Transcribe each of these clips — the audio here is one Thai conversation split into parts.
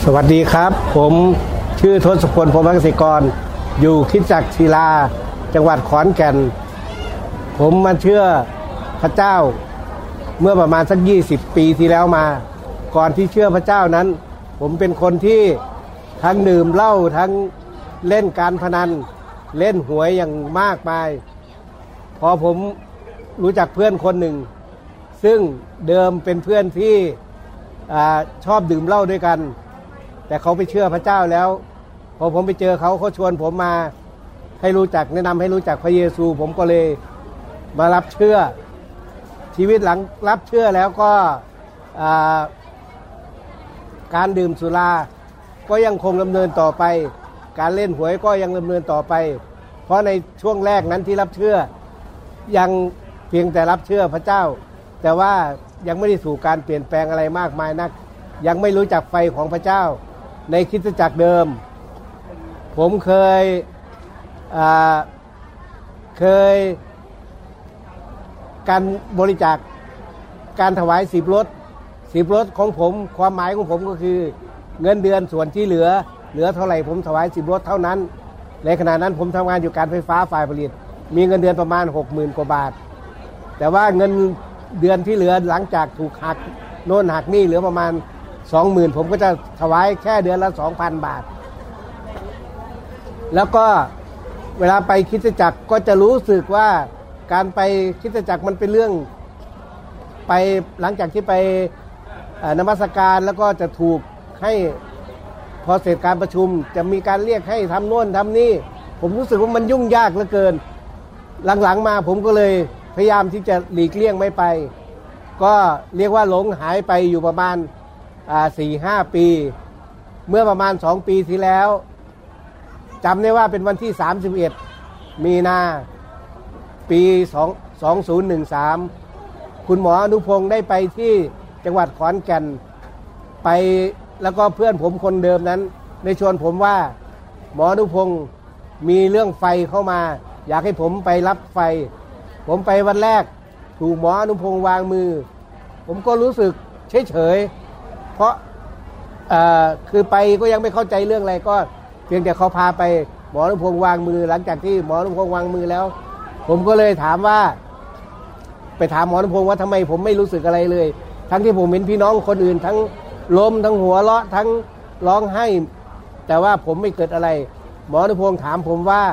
สวัสดีครับผมชื่อทศพล พรหมเกษตรกรอยู่คริสตจักรศิลาจังหวัดขอนแก่นผมมาเชื่อพระเจ้าเมื่อประมาณสัก20 ปีที่แล้วมาก่อนที่เชื่อพระเจ้านั้นผมเป็นคนที่ทั้งดื่มเหล้าทั้งเล่นการพนันเล่นหวยอย่างมากมายพอผมรู้จักเพื่อนคนหนึ่งซึ่งเดิมเป็นเพื่อนที่ชอบดื่มเหล้าด้วยกันแต่เขาไปเชื่อพระเจ้าแล้วพอผมไปเจอเขาชวนผมมาให้รู้จักแนะนำให้รู้จักพระเยซูผมก็เลยมารับเชื่อชีวิตหลังรับเชื่อแล้วก็การดื่มสุราก็ยังคงดำเนินต่อไปการเล่นหวยก็ยังดำเนินต่อไปเพราะในช่วงแรกนั้นที่รับเชื่อยังเพียงแต่รับเชื่อพระเจ้าแต่ว่ายังไม่ได้สู่การเปลี่ยนแปลงอะไรมากมายนักยังไม่รู้จักไฟของพระเจ้าในคริสตจักรเดิมผมเคยการบริจาคการถวาย10 รถของผมความหมายของผมก็คือเงินเดือนส่วนที่เหลือเท่าไหร่ผมถวาย10 รถเท่านั้นในขณะนั้นผมทำงานอยู่การไฟฟ้าฝ่ายผลิตมีเงินเดือนประมาณ 60,000 กว่าบาทแต่ว่าเงินเดือนที่เหลือหลังจากถูกหักโน่นหักนี่เหลือประมาณ 20,000 ผมก็จะถวายแค่เดือนละ 2,000 บาทแล้วก็เวลาไปคริสตจักรก็จะรู้สึกว่าการไปคริสตจักรมันเป็นเรื่องไปหลังจากที่ไปนมัสการแล้วก็จะถูกให้พอเสร็จการประชุมจะมีการเรียกให้ทำโน่นทำนี่ผมรู้สึกว่ามันยุ่งยากเหลือเกินหลังๆมาผมก็เลยพยายามที่จะหลีกเลี่ยงไม่ไปก็เรียกว่าหลงหายไปอยู่ประมาณ4-5 ปีเมื่อประมาณ2 ปีที่แล้วจำได้ว่าเป็นวันที่31 มีนาปี2013คุณหมออนุพงศ์ได้ไปที่จังหวัดขอนแก่นไปแล้วก็เพื่อนผมคนเดิมนั้นได้ชวนผมว่าหมออนุพงศ์มีเรื่องไฟเข้ามาอยากให้ผมไปรับไฟผมไปวันแรกถูกหมออนุพงศ์วางมือผมก็รู้สึกเฉยเพราะคือไปก็ยังไม่เข้าใจเรื่องอะไรก็เพียงแต่เขาพาไปหมออนุพงศ์วางมือหลังจากที่หมออนุพงศ์วางมือแล้วผมก็เลยถามว่าไปถามหมออนุพงศ์ว่าทำไมผมไม่รู้สึกอะไรเลยทั้งที่ผมเห็นพี่น้องคนอื่นทั้งล้มทั้งหัวเราะทั้งร้องไห้แต่ว่าผมไม่เกิดอะไรหมออนุพงศ์ถามผมว่า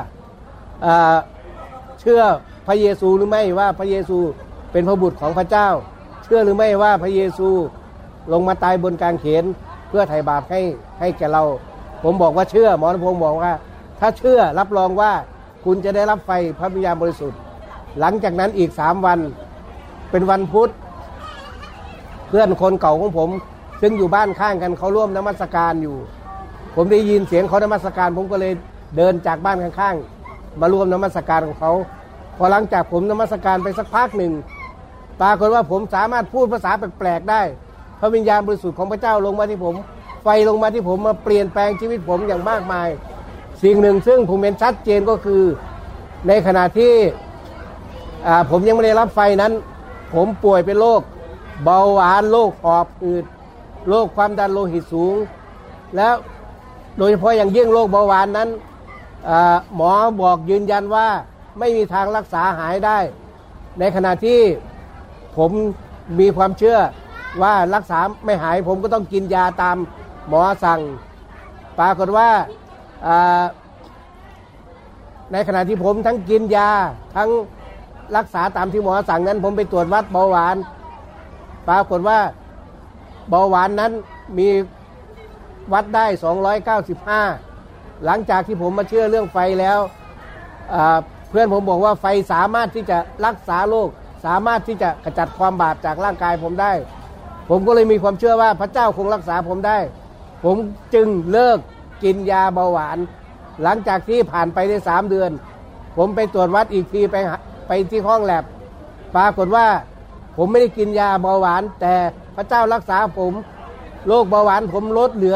เชื่อพระเยซูหรือไม่ว่าพระเยซูเป็นพระบุตรของพระเจ้าเชื่อหรือไม่ว่าพระเยซูลงมาตายบนกางเขนเพื่อไถ่บาปให้แก่เราผมบอกว่าเชื่อหมออนุพงศ์บอกว่าถ้าเชื่อรับรองว่าคุณจะได้รับไฟพระวิญญาณบริสุทธิ์หลังจากนั้นอีก3 วันเป็นวันพุธเพื่อนคนเก่าของผมซึ่งอยู่บ้านข้างกันเขาร่วมนมัสการอยู่ผมได้ยินเสียงเขานมัสการผมก็เลยเดินจากบ้านข้างๆมาร่วมนมัสการของเขาพอหลังจากผมนมัสการไปสักพักหนึ่งปรากฏว่าผมสามารถพูดภาษาแปลกๆได้พระวิญญาณบริสุทธิ์ของพระเจ้าลงมาที่ผมไฟลงมาที่ผมมาเปลี่ยนแปลงชีวิตผมอย่างมากมายสิ่งหนึ่งซึ่งผมเห็นชัดเจนก็คือในขณะที่ผมยังไม่ได้รับไฟนั้นผมป่วยเป็นโรคเบาหวานโรคหอบหืดโรคความดันโลหิตสูงแล้วโดยเฉพาะอย่างยิ่งโรคเบาหวานนั้นหมอบอกยืนยันว่าไม่มีทางรักษาหายได้ในขณะที่ผมมีความเชื่อว่ารักษาไม่หายผมก็ต้องกินยาตามหมอสั่งปรากฏว่าในขณะที่ผมทั้งกินยาทั้งรักษาตามที่หมอสั่งนั้นผมไปตรวจวัดเบาหวานปรากฏว่าเบาหวานนั้นมีวัดได้295หลังจากที่ผมมาเชื่อเรื่องไฟแล้วเพื่อนผมบอกว่าไฟสามารถที่จะรักษาโรคสามารถที่จะขจัดความบาปจากร่างกายผมได้ผมก็เลยมีความเชื่อว่าพระเจ้าคงรักษาผมได้ผมจึงเลิกกินยาเบาหวานหลังจากที่ผ่านไปได้3 เดือนผมไปตรวจวัดอีกทีไปที่ห้องแลบปรากฏว่าผมไม่ได้กินยาเบาหวานแต่พระเจ้ารักษาผมโรคเบาหวานผมลดเหลือ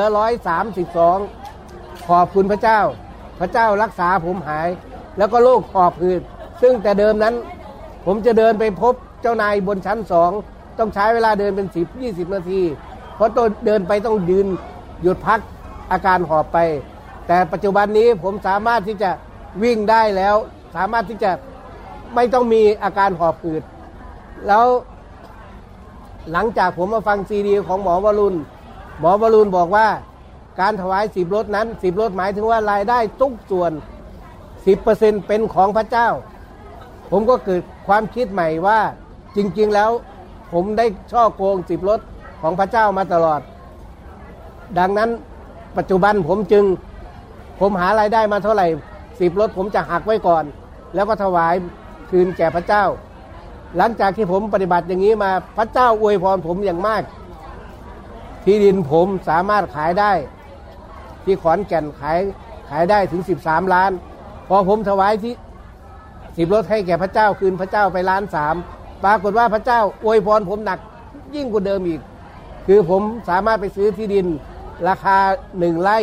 132ขอบคุณพระเจ้าพระเจ้ารักษาผมหายแล้วก็โรคหอบหืดซึ่งแต่เดิมนั้นผมจะเดินไปพบเจ้านายบนชั้น2ต้องใช้เวลาเดินเป็น10-20 นาทีเพราะต้องเดินไปต้องยืนหยุดพักอาการหอบไปแต่ปัจจุบันนี้ผมสามารถที่จะวิ่งได้แล้วสามารถที่จะไม่ต้องมีอาการหอบหืดแล้วหลังจากผมมาฟังซีดีของหมอวรุณบอกว่าการถวาย10 รถนั้น10 รถหมายถึงว่ารายได้ทุกส่วน 10% เป็นของพระเจ้าผมก็เกิดความคิดใหม่ว่าจริงๆแล้วผมได้ช่อโกง10 รถของพระเจ้ามาตลอดดังนั้นปัจจุบันผมหารายได้มาเท่าไหร่10 รถผมจะหักไว้ก่อนแล้วก็ถวายคืนแก่พระเจ้าหลังจากที่ผมปฏิบัติอย่างนี้มาพระเจ้าอวยพรผมอย่างมากที่ดินผมสามารถขายได้ที่ขอนแก่นขายได้ถึง13 ล้านพอผมถวายที่10 รถให้แก่พระเจ้าคืนพระเจ้าไป1.3 ล้านปรากฏว่าพระเจ้าอวยพรผมหนักยิ่งกว่าเดิมอีกคือผมสามารถไปซื้อที่ดินราคา1 ไร่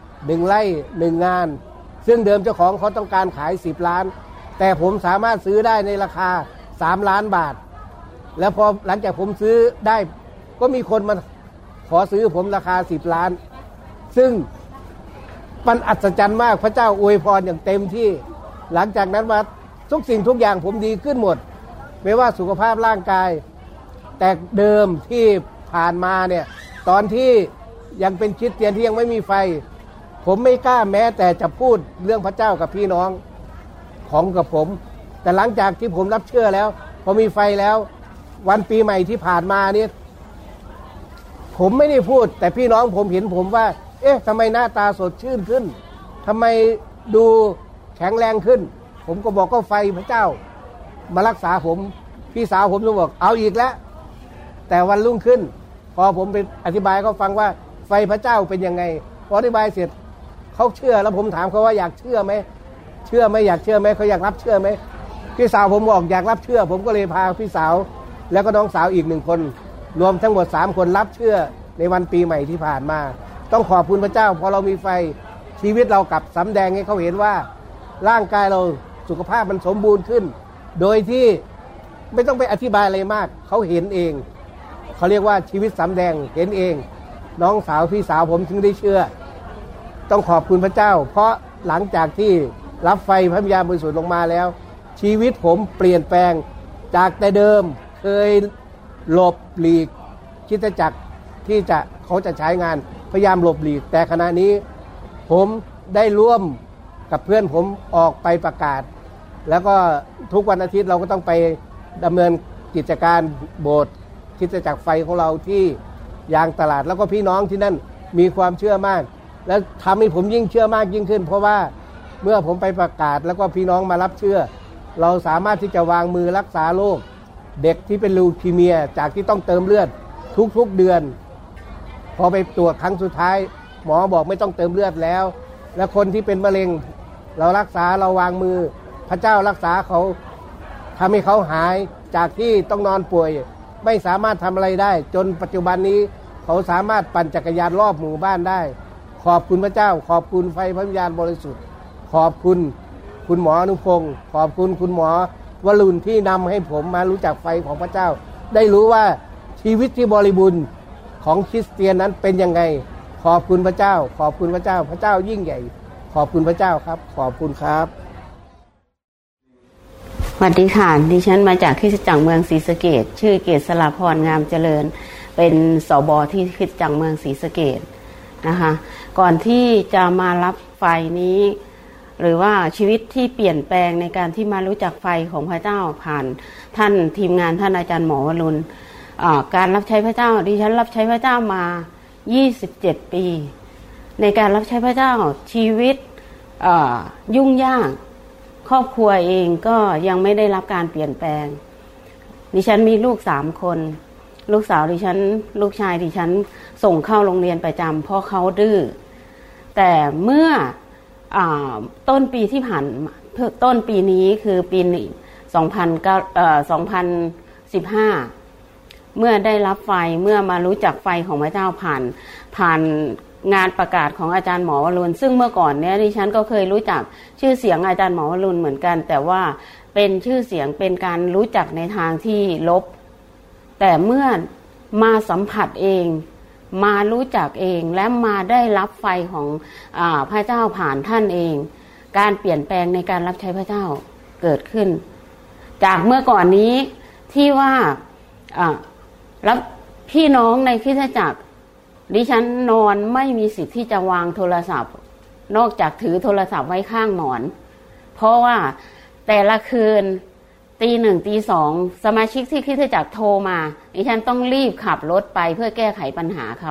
1 งานซึ่งเดิมเจ้าของเขาต้องการขาย10 ล้านแต่ผมสามารถซื้อได้ในราคา3 ล้านบาทแล้วพอหลังจากผมซื้อได้ก็มีคนมาขอซื้อผมราคา10 ล้านซึ่งมันอัศจรรย์มากพระเจ้าอวยพรอย่างเต็มที่หลังจากนั้นมาทุกสิ่งทุกอย่างผมดีขึ้นหมดไม่ว่าสุขภาพร่างกายแต่เดิมที่ผ่านมาเนี่ยตอนที่ยังเป็นคริสเตียนที่ยังไม่มีไฟผมไม่กล้าแม้แต่จะพูดเรื่องพระเจ้ากับพี่น้องของกับผมแต่หลังจากที่ผมรับเชื่อแล้วพอมีไฟแล้ววันปีใหม่ที่ผ่านมาเนี่ยผมไม่ได้พูดแต่พี่น้องผมเห็นผมว่าเอ๊ะทำไมหน้าตาสดชื่นขึ้นทำไมดูแข็งแรงขึ้นผมก็บอกก็ไฟพระเจ้ามารักษาผมพี่สาวผมก็บอกเอาอีกแล้วแต่วันรุ่งขึ้นพอผมไปอธิบายเขาฟังว่าไฟพระเจ้าเป็นยังไงพออธิบายเสร็จเขาเชื่อแล้วผมถามเขาว่าอยากเชื่อไหมอยากเชื่อไหมเขาอยากรับเชื่อไหมพี่สาวผมบอกอยากรับเชื่อผมก็เลยพาพี่สาวแล้วก็น้องสาวอีก1 คนรวมทั้งหมด3 คนรับเชื่อในวันปีใหม่ที่ผ่านมาต้องขอบคุณพระเจ้าพอเรามีไฟชีวิตเรากลับสำแดงให้เขาเห็นว่าร่างกายเราสุขภาพมันสมบูรณ์ขึ้นโดยที่ไม่ต้องไปอธิบายอะไรมากเขาเห็นเองเขาเรียกว่าชีวิตสำแดงเห็นเองน้องสาวพี่สาวผมถึงได้เชื่อต้องขอบคุณพระเจ้าเพราะหลังจากที่รับไฟพระวิญญาณบริสุทธิ์ลงมาแล้วชีวิตผมเปลี่ยนแปลงจากแต่เดิมเคยหลบหลีกคริสตจักรที่เขาจะใช้งานพยายามหลบหลีกแต่ขณะนี้ผมได้ร่วมกับเพื่อนผมออกไปประกาศแล้วก็ทุกวันอาทิตย์เราก็ต้องไปดำเนินกิจการโบสถ์คริสตจักรไฟของเราที่ยางตลาดแล้วก็พี่น้องที่นั่นมีความเชื่อมากและทำให้ผมยิ่งเชื่อมากยิ่งขึ้นเพราะว่าเมื่อผมไปประกาศแล้วก็พี่น้องมารับเชื่อเราสามารถที่จะวางมือรักษาโรคเด็กที่เป็นลูคีเมียจากที่ต้องเติมเลือดทุกๆเดือนพอไปตรวจครั้งสุดท้ายหมอบอกไม่ต้องเติมเลือดแล้วและคนที่เป็นมะเร็งเรารักษาเราวางมือพระเจ้ารักษาเขาทำให้เขาหายจากที่ต้องนอนป่วยไม่สามารถทำอะไรได้จนปัจจุบันนี้เขาสามารถปั่นจักรยานรอบหมู่บ้านได้ขอบคุณพระเจ้าขอบคุณไฟพระวิญญาณบริสุทธิ์ขอบคุณคุณหมออนุพงศ์ขอบคุณคุณหมอวรุณที่นำให้ผมมารู้จักไฟของพระเจ้าได้รู้ว่าชีวิตที่บริบูรณ์ของคริสเตียนนั้นเป็นยังไงขอบคุณพระเจ้าขอบคุณพระเจ้าพระเจ้ายิ่งใหญ่ขอบคุณพระเจ้าครับขอบคุณครับสวัสดีค่ะดิฉันมาจากคริสตจักรเมืองศรีสะเกษชื่อเกษราพรงามเจริญเป็นสบที่คริสตจักรเมืองศรีสะเกษนะคะก่อนที่จะมารับไฟนี้หรือว่าชีวิตที่เปลี่ยนแปลงในการที่มารู้จักไฟของพระเจ้าผ่านท่านทีมงานท่านอาจารย์หมอวรุณการรับใช้พระเจ้าดิฉันรับใช้พระเจ้ามา27 ปีในการรับใช้พระเจ้าชีวิตยุ่งยากครอบครัวเองก็ยังไม่ได้รับการเปลี่ยนแปลงดิฉันมีลูก3 คนลูกสาวดิฉันลูกชายดิฉันส่งเข้าโรงเรียนประจำเพราะเขาดื้อแต่เมื่อต้นปีที่ผ่านต้นปีนี้คือปี2015เมื่อได้รับไฟเมื่อมารู้จักไฟของพระเจ้าผ่านงานประกาศของอาจารย์หมอวรุณซึ่งเมื่อก่อนเนี้ยดิฉันก็เคยรู้จักชื่อเสียงอาจารย์หมอวรุณเหมือนกันแต่ว่าเป็นชื่อเสียงเป็นการรู้จักในทางที่ลบแต่เมื่อมาสัมผัสเองมารู้จักเองและมาได้รับไฟของพระเจ้าผ่านท่านเองการเปลี่ยนแปลงในการรับใช้พระเจ้าเกิดขึ้นจากเมื่อก่อนนี้ที่ว่าแล้วพี่น้องในคริสตจักรดิฉันนอนไม่มีสิทธิ์ที่จะวางโทรศัพท์นอกจากถือโทรศัพท์ไว้ข้างหมอนเพราะว่าแต่ละคืนตีหนึ่งตีสองสมาชิกที่คริสตจักรโทรมาดิฉันต้องรีบขับรถไปเพื่อแก้ไขปัญหาเขา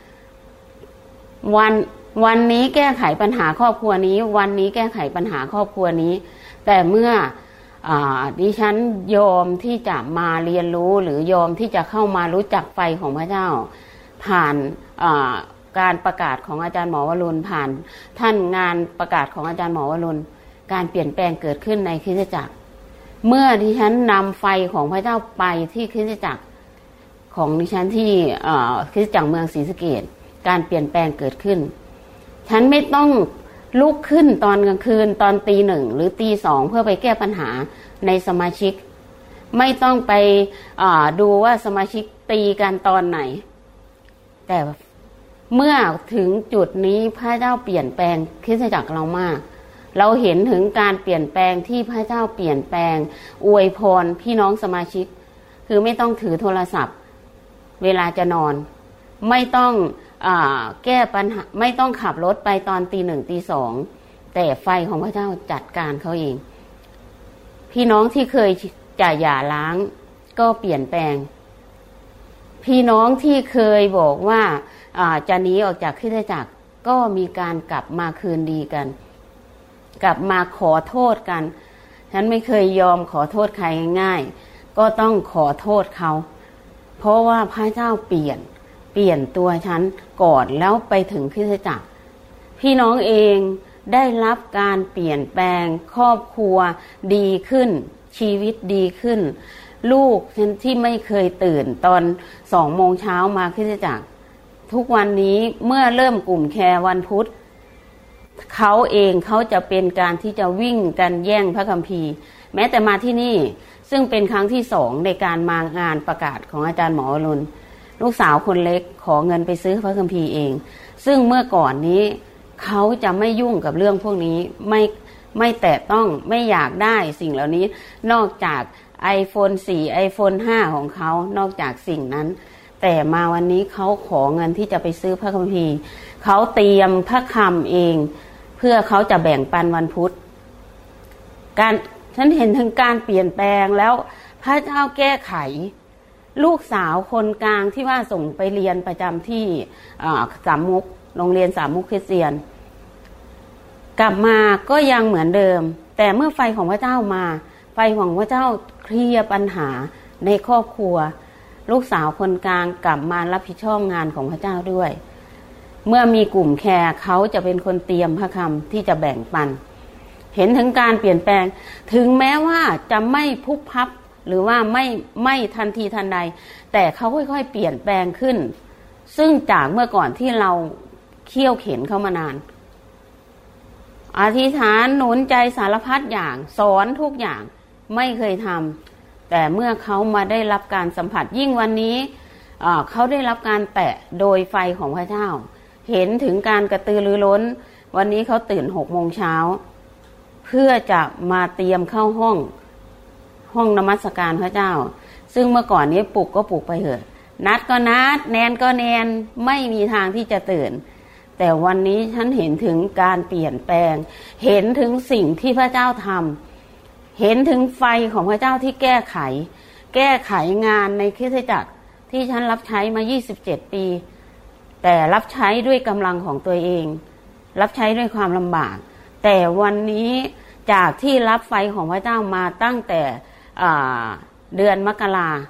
วันนี้แก้ไขปัญหาครอบครัวนี้วันนี้แก้ไขปัญหาครอบครัวนี้แต่เมื่อดิฉันยอมที่จะมาเรียนรู้หรือยอมที่จะเข้ามารู้จักไฟของพระเจ้าผ่านการประกาศของอาจารย์หมอวรุณผ่านท่านงานประกาศของอาจารย์หมอวรุณการเปลี่ยนแปลงเกิดขึ้นในคริสตจักรเมื่อดิฉันนำไฟของพระเจ้าไปที่คริสตจักรของดิฉันที่คริสตจักรเมืองศรีสะเกษการเปลี่ยนแปลงเกิดขึ้นฉันไม่ต้องลุกขึ้นตอนกลางคืนตอนตีหนึ่งหรือตีสองเพื่อไปแก้ปัญหาในสมาชิกไม่ต้องไปดูว่าสมาชิกตีกันตอนไหนแต่เมื่อถึงจุดนี้พระเจ้าเปลี่ยนแปลงคริสตจักรเรามากเราเห็นถึงการเปลี่ยนแปลงที่พระเจ้าเปลี่ยนแปลงอวยพรพี่น้องสมาชิกคือไม่ต้องถือโทรศัพท์เวลาจะนอนไม่ต้องแก้ปัญหาไม่ต้องขับรถไปตอนตีหนึ่งตีสองแต่ไฟของพระเจ้าจัดการเขาเองพี่น้องที่เคยจะหย่าร้างก็เปลี่ยนแปลงพี่น้องที่เคยบอกว่าจะหนีออกจากคริสตจักรก็มีการกลับมาคืนดีกันกลับมาขอโทษกันฉันไม่เคยยอมขอโทษใครง่ายๆก็ต้องขอโทษเขาเพราะว่าพระเจ้าเปลี่ยนตัวฉันก่อนแล้วไปถึงคริสตจักรพี่น้องเองได้รับการเปลี่ยนแปลงครอบครัวดีขึ้นชีวิตดีขึ้นลูกฉันที่ไม่เคยตื่นตอน2 โมงเช้ามาคริสตจักรทุกวันนี้เมื่อเริ่มกลุ่มแคร์วันพุธเขาเองเขาจะเป็นการที่จะวิ่งกันแย่งพระคัมภีร์แม้แต่มาที่นี่ซึ่งเป็นครั้งที่2ในการมางานประกาศของอาจารย์หมอวรุณลูกสาวคนเล็กขอเงินไปซื้อพระคัมภีร์เองซึ่งเมื่อก่อนนี้เขาจะไม่ยุ่งกับเรื่องพวกนี้ไม่แตะต้องไม่อยากได้สิ่งเหล่านี้นอกจาก iPhone 4 iPhone 5 ของเขานอกจากสิ่งนั้นแต่มาวันนี้เขาขอเงินที่จะไปซื้อพระคัมภีร์เขาเตรียมพระคำเองเพื่อเขาจะแบ่งปันวันพุธฉันเห็นถึงการเปลี่ยนแปลงแล้วพระเจ้าแก้ไขลูกสาวคนกลางที่ว่าส่งไปเรียนประจำที่สามมุกโรงเรียนสามมุกคริสเตียนกลับมาก็ยังเหมือนเดิมแต่เมื่อไฟของพระเจ้ามาไฟของพระเจ้าเคลียร์ปัญหาในครอบครัวลูกสาวคนกลางกลับมารับผิดชอบงานของพระเจ้าด้วยเมื่อมีกลุ่มแคร์เขาจะเป็นคนเตรียมพระคำที่จะแบ่งปันเห็นถึงการเปลี่ยนแปลงถึงแม้ว่าจะไม่พุบพับหรือว่าไม่ทันทีทันใดแต่เขาค่อยๆเปลี่ยนแปลงขึ้นซึ่งจากเมื่อก่อนที่เราเคี่ยวเข็นเขามานานอธิษฐานหนุนใจสารพัดอย่างสอนทุกอย่างไม่เคยทำแต่เมื่อเขามาได้รับการสัมผัสยิ่งวันนี้เขาได้รับการแตะโดยไฟของพระเจ้าเห็นถึงการกระตือรือร้นวันนี้เขาตื่น6 โมงเช้าเพื่อจะมาเตรียมเข้าห้องนมัสการพระเจ้าซึ่งเมื่อก่อนนี้ปลุกก็ปลุกไปเถอะนัดก็นัดแนนก็แนนไม่มีทางที่จะตื่นแต่วันนี้ฉันเห็นถึงการเปลี่ยนแปลงเห็นถึงสิ่งที่พระเจ้าทำเห็นถึงไฟของพระเจ้าที่แก้ไขงานในคริสตจักรที่ฉันรับใช้มา27 ปีแต่รับใช้ด้วยกำลังของตัวเองรับใช้ด้วยความลำบากแต่วันนี้จากที่รับไฟของพระเจ้ามาตั้งแต่เดือนมก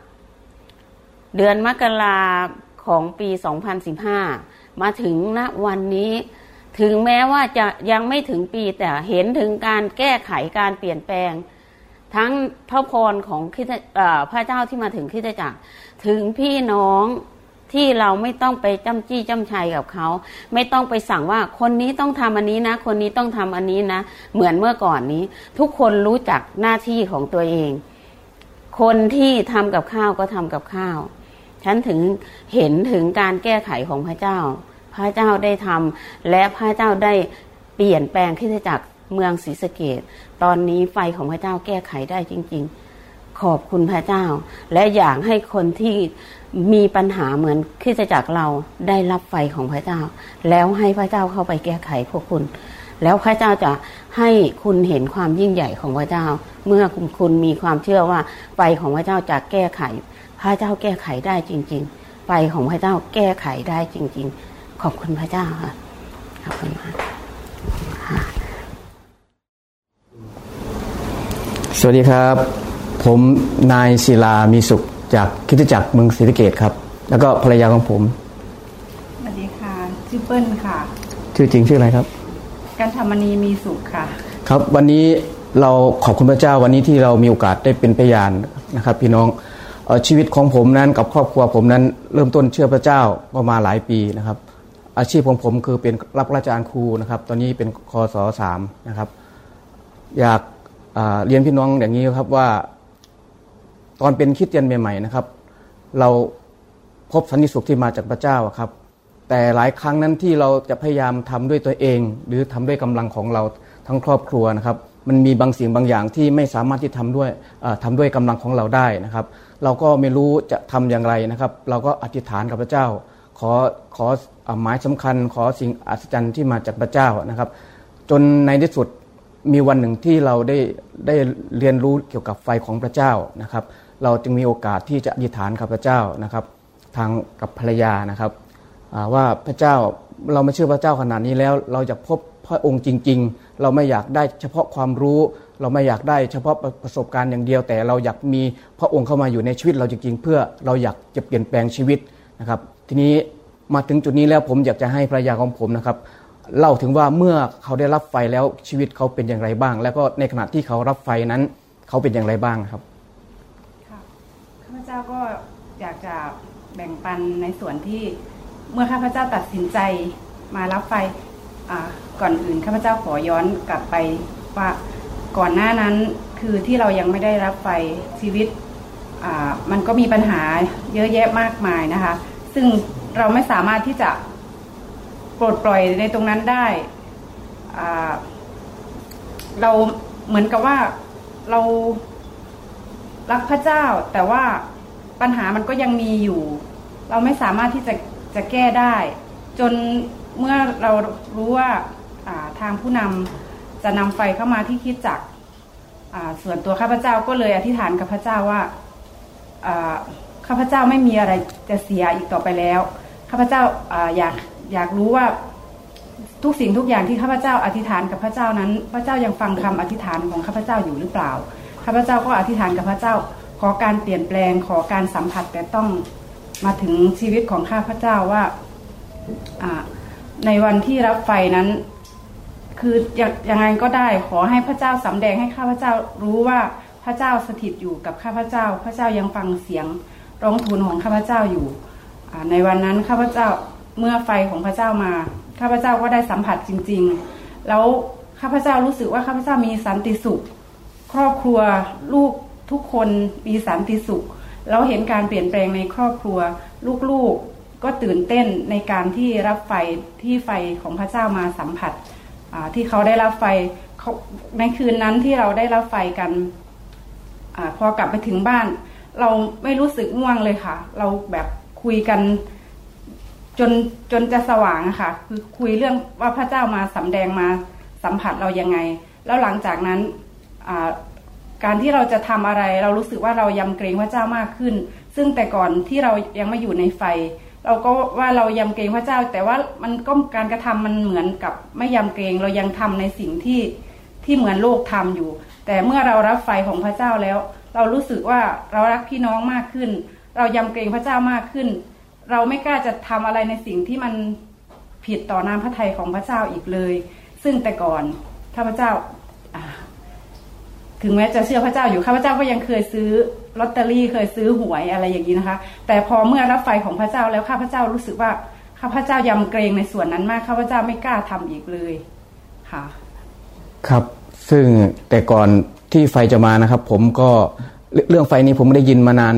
ราของปี2015มาถึงณวันนี้ถึงแม้ว่าจะยังไม่ถึงปีแต่เห็นถึงการแก้ไขการเปลี่ยนแปลงทั้งพระพรของพระเจ้าที่มาถึงคริสตจักรถึงพี่น้องที่เราไม่ต้องไปจ้ำจี้จ้ำชัยกับเขาไม่ต้องไปสั่งว่าคนนี้ต้องทำอันนี้นะคนนี้ต้องทำอันนี้นะเหมือนเมื่อก่อนนี้ทุกคนรู้จักหน้าที่ของตัวเองคนที่ทำกับข้าวก็ทำกับข้าวฉันถึงเห็นถึงการแก้ไขของพระเจ้าพระเจ้าได้ทำและพระเจ้าได้เปลี่ยนแปลงคริสตจักรเมืองศรีสะเกษตอนนี้ไฟของพระเจ้าแก้ไขได้จริงๆขอบคุณพระเจ้าและอยากให้คนที่มีปัญหาเหมือนคริสตจักรเราได้รับไฟของพระเจ้าแล้วให้พระเจ้าเข้าไปแก้ไขพวกคุณแล้วพระเจ้าจะให้คุณเห็นความยิ่งใหญ่ของพระเจ้าเมื่อคุณมีความเชื่อว่าไฟของพระเจ้าจะแก้ไขพระเจ้าแก้ไขได้จริงๆไฟของพระเจ้าแก้ไขได้จริงๆขอบคุณพระเจ้าค่ะขอบคุณมากสวัสดีครับผมนายศิลามีสุขจากคริสตจักรเมืองศรีสะเกษครับแล้วก็ภรรยาของผมสวัสดีค่ะชื่อเปิ้ลค่ะชื่อจริงชื่ออะไรครับกันธรรมนีมีสุขค่ะครับวันนี้เราขอบคุณพระเจ้าวันนี้ที่เรามีโอกาสได้เป็นพยานนะครับพี่น้องชีวิตของผมนั้นกับครอบครัวผมนั้นเริ่มต้นเชื่อพระเจ้าก็มาหลายปีนะครับอาชีพของผมคือเป็นรับราชการครูนะครับตอนนี้เป็นคศ3นะครับอยากเรียนพี่น้องอย่างนี้ครับว่าตอนเป็นคริสเตียนใหม่ๆนะครับเราพบสันติสุขที่มาจากพระเจ้าครับแต่หลายครั้งนั้นที่เราจะพยายามทำด้วยตัวเองหรือทำด้วยกำลังของเราทั้งครอบครัวนะครับมันมีบางสิ่งบางอย่างที่ไม่สามารถที่ทำด้วยกำลังของเราได้นะครับเราก็ไม่รู้จะทำอย่างไรนะครับเราก็อธิษฐานกับพระเจ้าขอหมายสำคัญขอสิ่งอัศจรรย์ที่มาจากพระเจ้านะครับจนในที่สุดมีวันหนึ่งที่เราได้เรียนรู้เกี่ยวกับไฟของพระเจ้านะครับเราจึงมีโอกาสที่จะอธิษฐานกับพระเจ้านะครับทางกับภรรยานะครับว่าพระเจ้าเราไม่เชื่อพระเจ้าขนาดนี้แล้วเราอยากพบพระองค์จริงๆเราไม่อยากได้เฉพาะความรู้เราไม่อยากได้เฉพาะประสบการณ์อย่างเดียวแต่เราอยากมีพระองค์เข้ามาอยู่ในชีวิตเราจริงๆเพื่อเราอยากจะเปลี่ยนแปลงชีวิตนะครับทีนี้มาถึงจุดนี้แล้วผมอยากจะให้ภรรยาของผมนะครับเล่าถึงว่าเมื่อเขาได้รับไฟแล้วชีวิตเขาเป็นอย่างไรบ้างแล้วก็ในขณะที่เขารับไฟนั้นเขาเป็นอย่างไรบ้างครับค่ะข้าพเจ้าก็อยากจะแบ่งปันในส่วนที่เมื่อข้าพเจ้าตัดสินใจมารับไฟก่อนอื่นข้าพเจ้าขอย้อนกลับไปว่าก่อนหน้านั้นคือที่เรายังไม่ได้รับไฟชีวิตมันก็มีปัญหาเยอะแยะมากมายนะคะซึ่งเราไม่สามารถที่จะปลดปล่อยในตรงนั้นได้เราเหมือนกับว่าเรารักพระเจ้าแต่ว่าปัญหามันก็ยังมีอยู่เราไม่สามารถที่จะแก้ได้จนเมื่อเรารู้ว่าทางผู้นำจะนำไฟเข้ามาที่คริสตจักรส่วนตัวข้าพเจ้าก็เลยอธิษฐานกับพระเจ้าว่าข้าพเจ้าไม่มีอะไรจะเสียอีกต่อไปแล้วข้าพเจ้าอยากรู้ว่าทุกสิ่งทุกอย่างที่ข้าพเจ้าอธิษฐานกับพระเจ้านั้นพระเจ้ายังฟังคำอธิษฐานของข้าพเจ้าอยู่หรือเปล่าข้าพเจ้าก็อธิษฐานกับพระเจ้าขอการเปลี่ยนแปลงขอการสัมผัสแต่ต้องมาถึงชีวิตของข้าพเจ้าว่าในวันที่รับไฟนั้นคือยังไงก็ได้ขอให้พระเจ้าสำแดงให้ข้าพเจ้ารู้ว่าพระเจ้าสถิตอยู่กับข้าพเจ้าพระเจ้ายังฟังเสียงร้องทูลของข้าพเจ้าอยู่ในวันนั้นข้าพเจ้าเมื่อไฟของพระเจ้ามาข้าพเจ้าก็ได้สัมผัสจริงๆแล้วข้าพเจ้ารู้สึกว่าข้าพเจ้ามีสันติสุขครอบครัวลูกทุกคนมีสันติสุขแล้วเห็นการเปลี่ยนแปลงในครอบครัวลูกๆก็ตื่นเต้นในการที่รับไฟที่ไฟของพระเจ้ามาสัมผัสที่เขาได้รับไฟในคืนนั้นที่เราได้รับไฟกันพอกลับไปถึงบ้านเราไม่รู้สึกง่วงเลยค่ะเราแบบคุยกันจนจะสว่างค่ะคือคุยเรื่องว่าพระเจ้ามาสำแดงมาสัมผัสเรายังไงแล้วหลังจากนั้นการที่เราจะทำอะไรเรารู้สึกว่าเรายำเกรงพระเจ้ามากขึ้นซึ่งแต่ก่อนที่เรายังไม่อยู่ในไฟเราก็ว่าเรายำเกรงพระเจ้าแต่ว่ามันก็การกระทำมันเหมือนกับไม่ยำเกรงเรายังทำในสิ่งที่เหมือนโลกทำอยู่แต่เมื่อเรารับไฟของพระเจ้าแล้วเรารู้สึกว่าเรารักพี่น้องมากขึ้นเรายำเกรงพระเจ้ามากขึ้นเราไม่กล้าจะทำอะไรในสิ่งที่มันผิดต่อน้ำพระทัยของพระเจ้าอีกเลยซึ่งแต่ก่อนข้าพเจ้าถึงแม้จะเชื่อพระเจ้าอยู่ข้าพเจ้าก็ยังเคยซื้อลอตเตอรี่เคยซื้อหวยอะไรอย่างนี้นะคะแต่พอเมื่อรับไฟของพระเจ้าแล้วข้าพเจ้ารู้สึกว่าข้าพเจ้ายำเกรงในส่วนนั้นมากข้าพเจ้าไม่กล้าทำอีกเลยค่ะครับซึ่งแต่ก่อนที่ไฟจะมานะครับผมก็เรื่องไฟนี้ผมไม่ได้ยินมานานแล้ว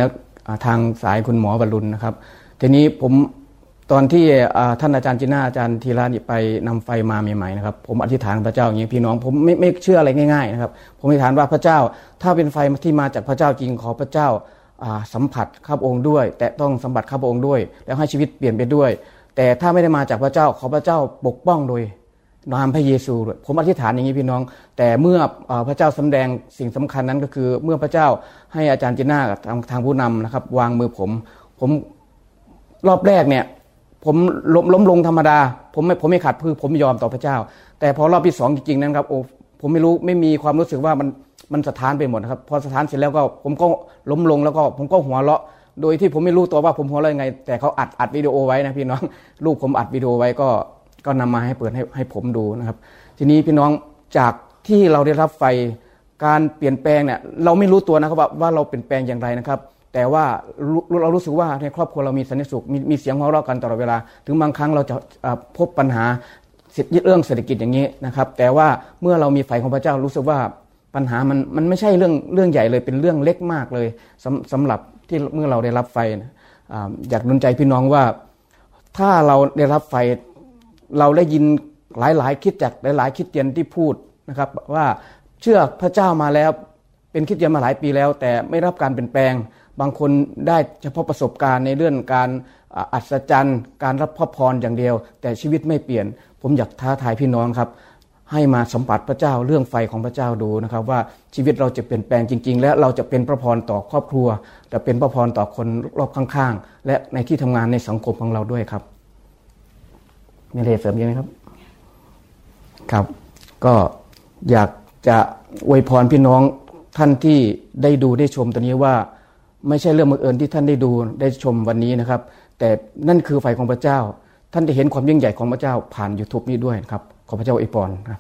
ทางสายคุณหมอบรรลุนนะครับทีนี้ผมตอนที่ท่านอาจารย์จีน่าอาจารย์ธีระนี่ไปนำไฟมาใหม่ๆนะครับผมอธิษฐานพระเจ้าอย่างนี้พี่น้องผมไม่เชื่ออะไรง่ายๆนะครับผมอธิษฐานว่าพระเจ้าถ้าเป็นไฟที่มาจากพระเจ้าจริงขอพระเจ้าสัมผัสข้าพระองค์ด้วยแต่ต้องสัมผัสข้าพระองค์ด้วยแล้วให้ชีวิตเปลี่ยนไปด้วยแต่ถ้าไม่ได้มาจากพระเจ้าขอพระเจ้าปกป้องโดยนามพระเยซูผมอธิษฐานอย่างนี้พี่น้องแต่เมื่อพระเจ้าสำแดงสิ่งสำคัญนั้นก็คือเมื่อพระเจ้าให้อาจารย์จีน่าทางผู้นำนะครับวางมือผมรอบแรกเนี่ยผมล้มลงธรรมดาผมไม่ขัดคือผมยอมต่อพระเจ้าแต่พอรอบที่2จริงๆนั้นครับโอ้ผมไม่มีความรู้สึกว่ามันสถานไปหมดนะครับพอสถานเสร็จแล้วก็ผมก็ล้มลงแล้วก็ผมก็หัวเราะโดยที่ผมไม่รู้ตัวว่าผมหัวเราะยังไงแต่เขาอัดวิดีโอไว้นะพี่น้องลูกผมอัดวิดีโอไว้ก็นำมาให้เปิดให้ผมดูนะครับทีนี้พี่น้องจากที่เราได้รับไฟการเปลี่ยนแปลงเนี่ยเราไม่รู้ตัวนะครับว่าเราเปลี่ยนแปลงอย่างไรนะครับแต่ว่าเรารู้สึกว่าในครอบครัวเรามีสันติสุขมีเสียงหัวเราะกันตลอดเวลาถึงบางครั้งเราจะพบปัญหาเรื่องเศรษฐกิจอย่างนี้นะครับแต่ว่าเมื่อเรามีไฟของพระเจ้ารู้สึกว่าปัญหามันไม่ใช่เรื่องใหญ่เลยเป็นเรื่องเล็กมากเลยสำหรับที่เมื่อเราได้รับไฟอยากหนุนใจพี่น้องว่าถ้าเราได้รับไฟเราได้ยินหลายๆคริสตจักรหลายๆคริสเตียนที่พูดนะครับว่าเชื่อพระเจ้ามาแล้วเป็นคริสเตียนมาหลายปีแล้วแต่ไม่รับการเปลี่ยนแปลงบางคนได้เฉพาะประสบการณ์ในเรื่องการอัศจรรย์การรับพระพรอย่างเดียวแต่ชีวิตไม่เปลี่ยนผมอยากท้าทายพี่น้องครับให้มาสัมผัสพระเจ้าเรื่องไฟของพระเจ้าดูนะครับว่าชีวิตเราจะเปลี่ยนแปลงจริงๆและเราจะเป็นพระพรต่อครอบครัวจะเป็นพระพรต่อคนรอบข้างๆและในที่ทำงานในสังคมของเราด้วยครับมีอะไรเสริมยังไหมครับครับก็อยากจะอวยพรพี่น้องท่านที่ได้ดูได้ชมตอนนี้ว่าไม่ใช่เรื่องบังเอิญที่ท่านได้ดูได้ชมวันนี้นะครับแต่นั่นคือไฟของพระเจ้าท่านได้เห็นความยิ่งใหญ่ของพระเจ้าผ่าน YouTube นี้ด้วยครับขอพระเจ้าอวยพรครับ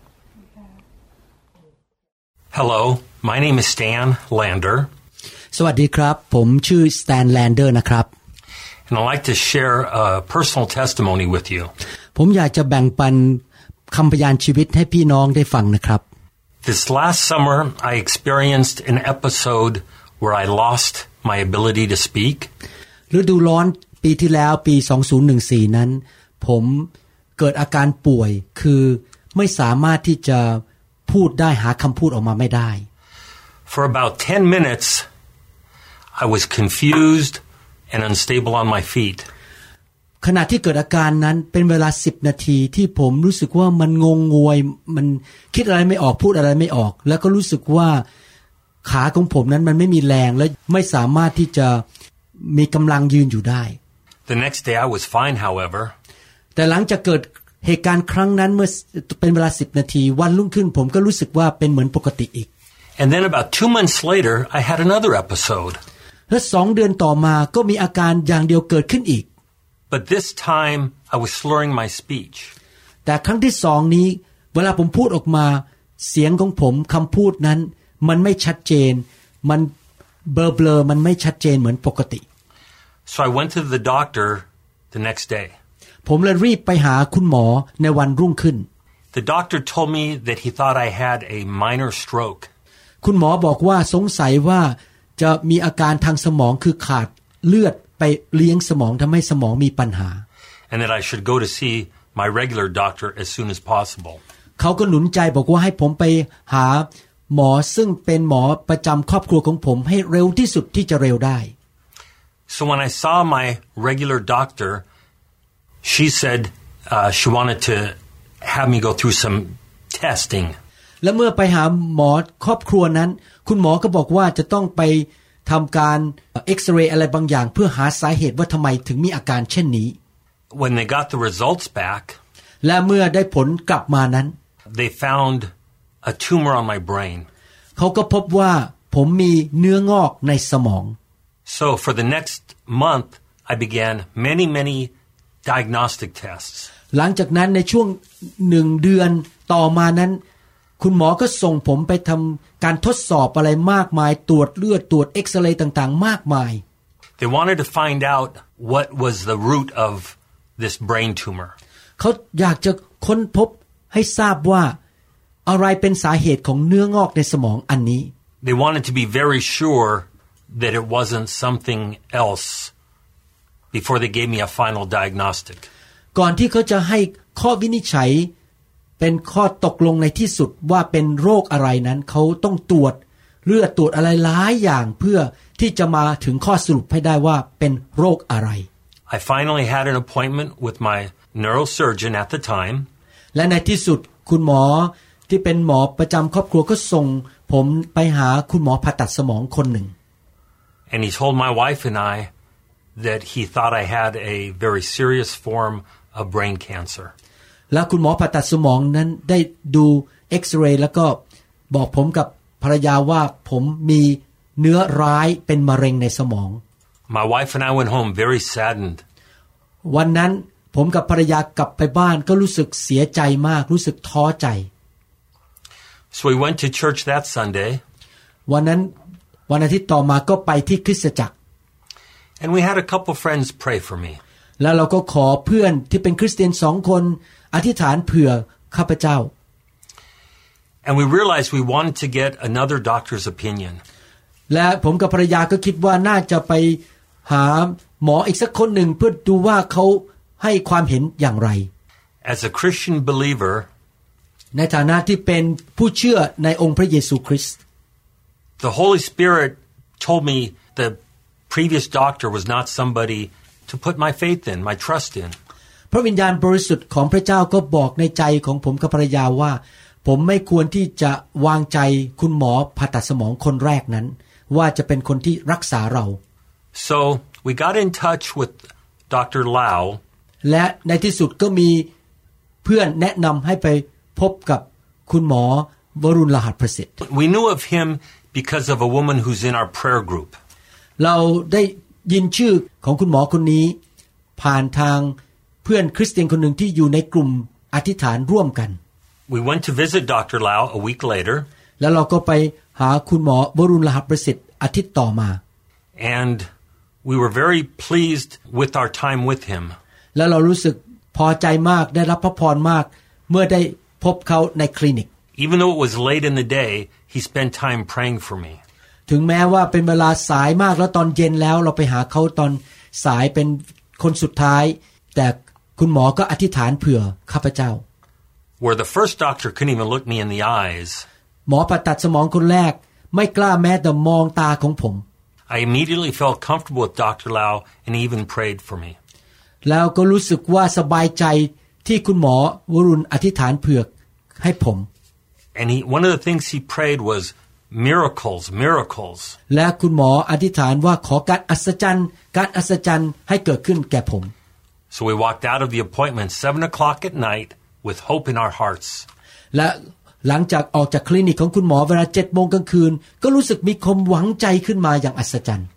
Hello, my name is Stan Lander. สวัสดีครับผมชื่อ Stan Lander นะครับ And I'd like to share a personal testimony with you. ผมอยากจะแบ่งปันคำพยานชีวิตให้พี่น้องได้ฟังนะครับ This last summer, I experienced an episode where I lost my ability to speak. ฤดูร้อนปีที่แล้วปี 2014 นั้นผมเกิดอาการป่วยคือไม่สามารถที่จะพูดได้หาคำพูดออกมาไม่ได้ For about 10 minutes, I was confused and unstable on my feet. ขณะที่เกิดอาการนั้นเป็นเวลา10นาทีที่ผมรู้สึกว่ามันงงงวยมันคิดอะไรไม่ออกพูดอะไรไม่ออกแล้วก็รู้สึกว่าขาของผมนั้นมันไม่มีแรงและไม่สามารถที่จะมีกำลังยืนอยู่ได้ The next day I was fine, however. แต่หลังจากเกิดเหตุการณ์ครั้งนั้นเมื่อเป็นเวลา10นาทีวันรุ่งขึ้นผมก็รู้สึกว่าเป็นเหมือนปกติอีก And then about 2 months later, I had another episode. และ2เดือนต่อมาก็มีอาการอย่างเดียวเกิดขึ้นอีก But this time, I was slurring my speech. แต่ครั้งที่2นี้เวลาผมพูดออกมาเสียงของผมคำพูดนั้นมันไม่ชัดเจนมันเบลอๆมันไม่ชัดเจนเหมือนปกติ So I went to the doctor the next day. ผมเลยรีบไปหาคุณหมอในวันรุ่งขึ้น The doctor told me that he thought I had a minor stroke. คุณหมอบอกว่าสงสัยว่าจะมีอาการทางสมองคือขาดเลือดไปเลี้ยงสมองทำให้สมองมีปัญหา And that I should go to see my regular doctor as soon as possible. เขาก็หนุนใจบอกว่าให้ผมไปหาหมอซึ่งเป็นหมอประจำครอบครัวของผมให้เร็วที่สุดที่จะเร็วได้ So when I saw my regular doctor, she said she wanted to have me go through some testing. และเมื่อไปหาหมอครอบครัวนั้นคุณหมอก็บอกว่าจะต้องไปทำการเอ็กซเรย์อะไรบางอย่างเพื่อหาสาเหตุว่าทำไมถึงมีอาการเช่นนี้ When they got the results back, และเมื่อได้ผลกลับมานั้น they found a tumor on my brain. เขาก็พบว่าผมมีเนื้องอกในสมอง So for the next month, I began many diagnostic tests. หลังจากนั้นในช่วง1 เดือนต่อมานั้นคุณหมอก็ส่งผมไปทำการทดสอบอะไรมากมายตรวจเลือดตรวจเอ็กซเรย์ต่างๆมากมาย They wanted to find out what was the root of this brain tumor. เขาอยากจะค้นพบให้ทราบว่าอะไรเป็นสาเหตุของเนื้องอกในสมองอันนี้ They wanted to be very sure that it wasn't something else before they gave me a final diagnostic. ก่อนที่เขาจะให้ข้อวินิจฉัยเป็นข้อตกลงในที่สุดว่าเป็นโรคอะไรนั้นเขาต้องตรวจเลือดตรวจอะไรหลายอย่างเพื่อที่จะมาถึงข้อสรุปให้ได้ว่าเป็นโรคอะไร I finally had an appointment with my neurosurgeon at the time. และในที่สุดคุณหมอที่เป็นหมอประจำครอบครัวก็ส่งผมไปหาคุณหมอผ่าตัดสมองคนหนึ่ง And he told my wife and I that he thought I had a very serious form of brain cancer. และคุณหมอผ่าตัดสมองนั้นได้ดูเอ็กซเรย์แล้วก็บอกผมกับภรรยาว่าผมมีเนื้อร้ายเป็นมะเร็งในสมอง My wife and I went home very saddened. วันนั้นผมกับภรรยากลับไปบ้านก็รู้สึกเสียใจมากรู้สึกท้อใจ So we went to church that Sunday. วันนั้นวันอาทิตย์ต่อมาก็ไปที่คริสตจักร And we had a couple friends pray for me. แล้วเราก็ขอเพื่อนที่เป็นคริสเตียน2 คนอธิษฐานเผื่อข้าพเจ้า And we realized we wanted to get another doctor's opinion. และผมกับภรรยาก็คิดว่าน่าจะไปหาหมออีกสักคนหนึ่งเพื่อดูว่าเขาให้ความเห็นอย่างไร As a Christian believer, ในฐานะที่เป็นผู้เชื่อในองค์พระเยซูคริสต์ the Holy Spirit told me the previous doctor was not somebody to put my faith in, my trust in. พระวิญญาณบริสุทธิ์ของพระเจ้าก็บอกในใจของผมกับภรรยาว่าผมไม่ควรที่จะวางใจคุณหมอผ่าตัดสมองคนแรกนั้นว่าจะเป็นคนที่รักษาเรา So we got in touch with Dr. Lau. และในที่สุดก็มีเพื่อนแนะนำให้ไปพบกับคุณหมอวรุณรหัสประสิทธิ์ We knew of him because of a woman who's in our prayer group. เราได้ยินชื่อของคุณหมอคนนี้ผ่านทางเพื่อนคริสเตียนคนหนึ่งที่อยู่ในกลุ่มอธิษฐานร่วมกัน We went to visit Dr. Lau a week later. แล้วเราก็ไปหาคุณหมอวรุณรหัสประสิทธิ์อาทิตย์ต่อมา And we were very pleased with our time with him. แล้วเรารู้สึกพอใจมากได้รับพระพรมากเมื่อได้พบเขาในคลินิก Even though it was late in the day, he spent time praying for me. ถึงแม้ว่าเป็นเวลาสายมากแล้วตอนเย็นแล้วเราไปหาเขาตอนสายเป็นคนสุดท้ายแต่คุณหมอก็อธิษฐานเผื่อข้าพเจ้า Where the first doctor couldn't even look me in the eyes, หมอผ่าตัดสมองคนแรกไม่กล้าแม้แต่มองตาของผม I immediately felt comfortable with Dr. Lau and he even prayed for me. แล้วก็รู้สึกว่าสบายใจที่คุณหมอวรุณอธิษฐานเผื่อให้ผม And one of the things he prayed was miracles, miracles. และคุณหมออธิษฐานว่าขอการอัศจรรย์ให้เกิดขึ้นแก่ผม So we walked out of the appointment 7:00 at night with hope in our hearts. และหลังจากออกจากคลินิกของคุณหมอเวลา 7:00 น.กลางคืนก็รู้สึกมีความหวังใจขึ้นมาอย่างอัศจรรย์